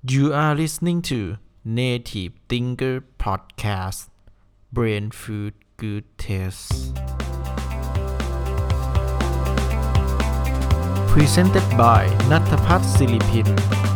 You are listening to Native Thinker Podcast Brain Food Good Taste Presented by Natapat Silipin.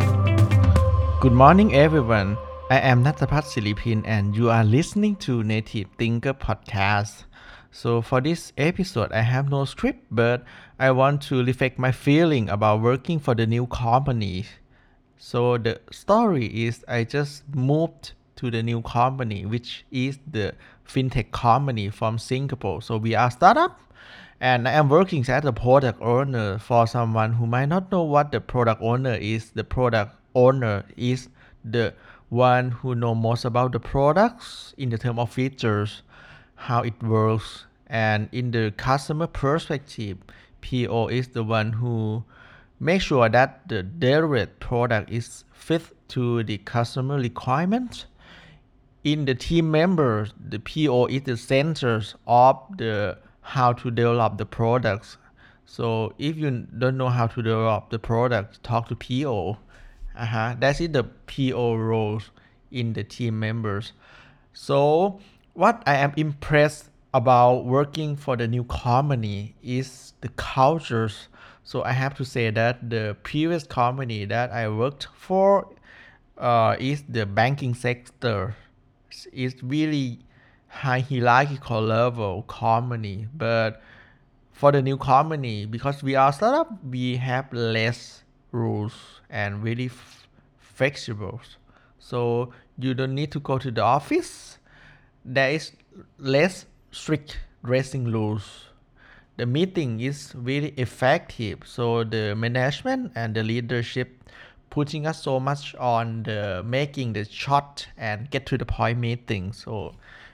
Good morning everyone. I am Natapat Silipin and you are listening to Native Thinker Podcast. So for this episode I have no script but I want to reflect my feeling about working for the new company. So the story is I just moved to the new company, which is the fintech company from Singapore. So we are startup, and I am working as a product owner. For someone who might not know what the product owner is, the product owner is the one who know most about the products in the term of features, how it works, and in the customer perspective, PO is the one who make sure that the delivered product is fit to the customer requirements. In the team members, the PO is the center of the how to develop the products. So if you don't know how to develop the product, talk to PO. That is the PO roles in the team members. So what I am impressed about working for the new company is the cultures. So I have to say that the previous company that I worked for is the banking sector. It's really high hierarchical level company, but for the new company, because we are startup, we have less rules and really flexible. So you don't need to go to the office. There is less strict dressing rules. The meeting is really effective. So the management and the leadership putting us so much on the making the short and get to the point meeting. So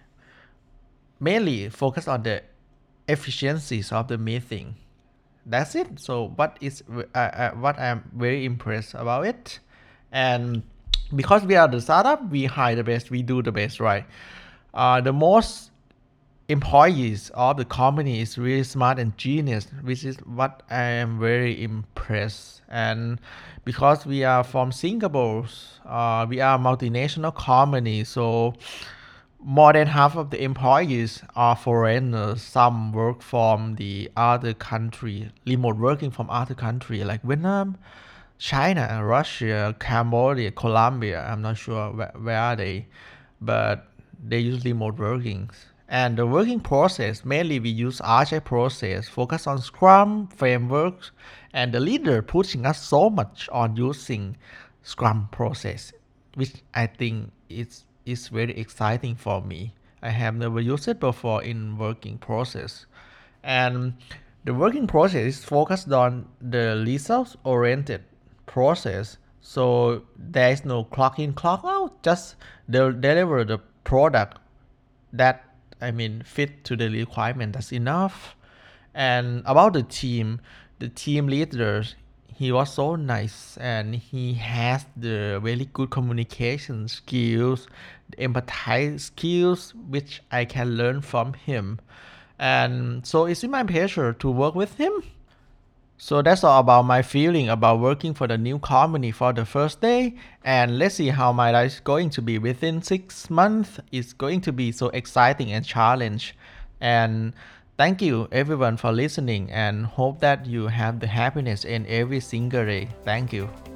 mainly focus on the efficiencies of the meeting. That's it. So what I'm very impressed about it, and because we are the startup, we hire the best, we do the best, right? The most employees of the company is really smart and genius, which is what I am very impressed. And because we are from Singapore, we are a multinational company, so more than half of the employees are foreigners. Some work from the other country, remote working from other country like Vietnam, China, Russia, Cambodia, Colombia. I'm not sure where are they, but they use remote working. And the working process, mainly we use Agile process, focus on Scrum frameworks, and the leader pushing us so much on using Scrum process, which I think is very exciting for me. I have never used it before in working process. And the working process is focused on the results oriented process. So there is no clock in, clock out, just deliver the product that fit to the requirement. That's enough. And about the team leaders, he was so nice and he has the really good communication skills, the empathize skills, which I can learn from him. And so it's my pleasure to work with him. So that's all about my feeling about working for the new company for the first day. And let's see how my life is going to be within 6 months. It's going to be so exciting and challenge. And thank you everyone for listening and hope that you have the happiness in every single day. Thank you.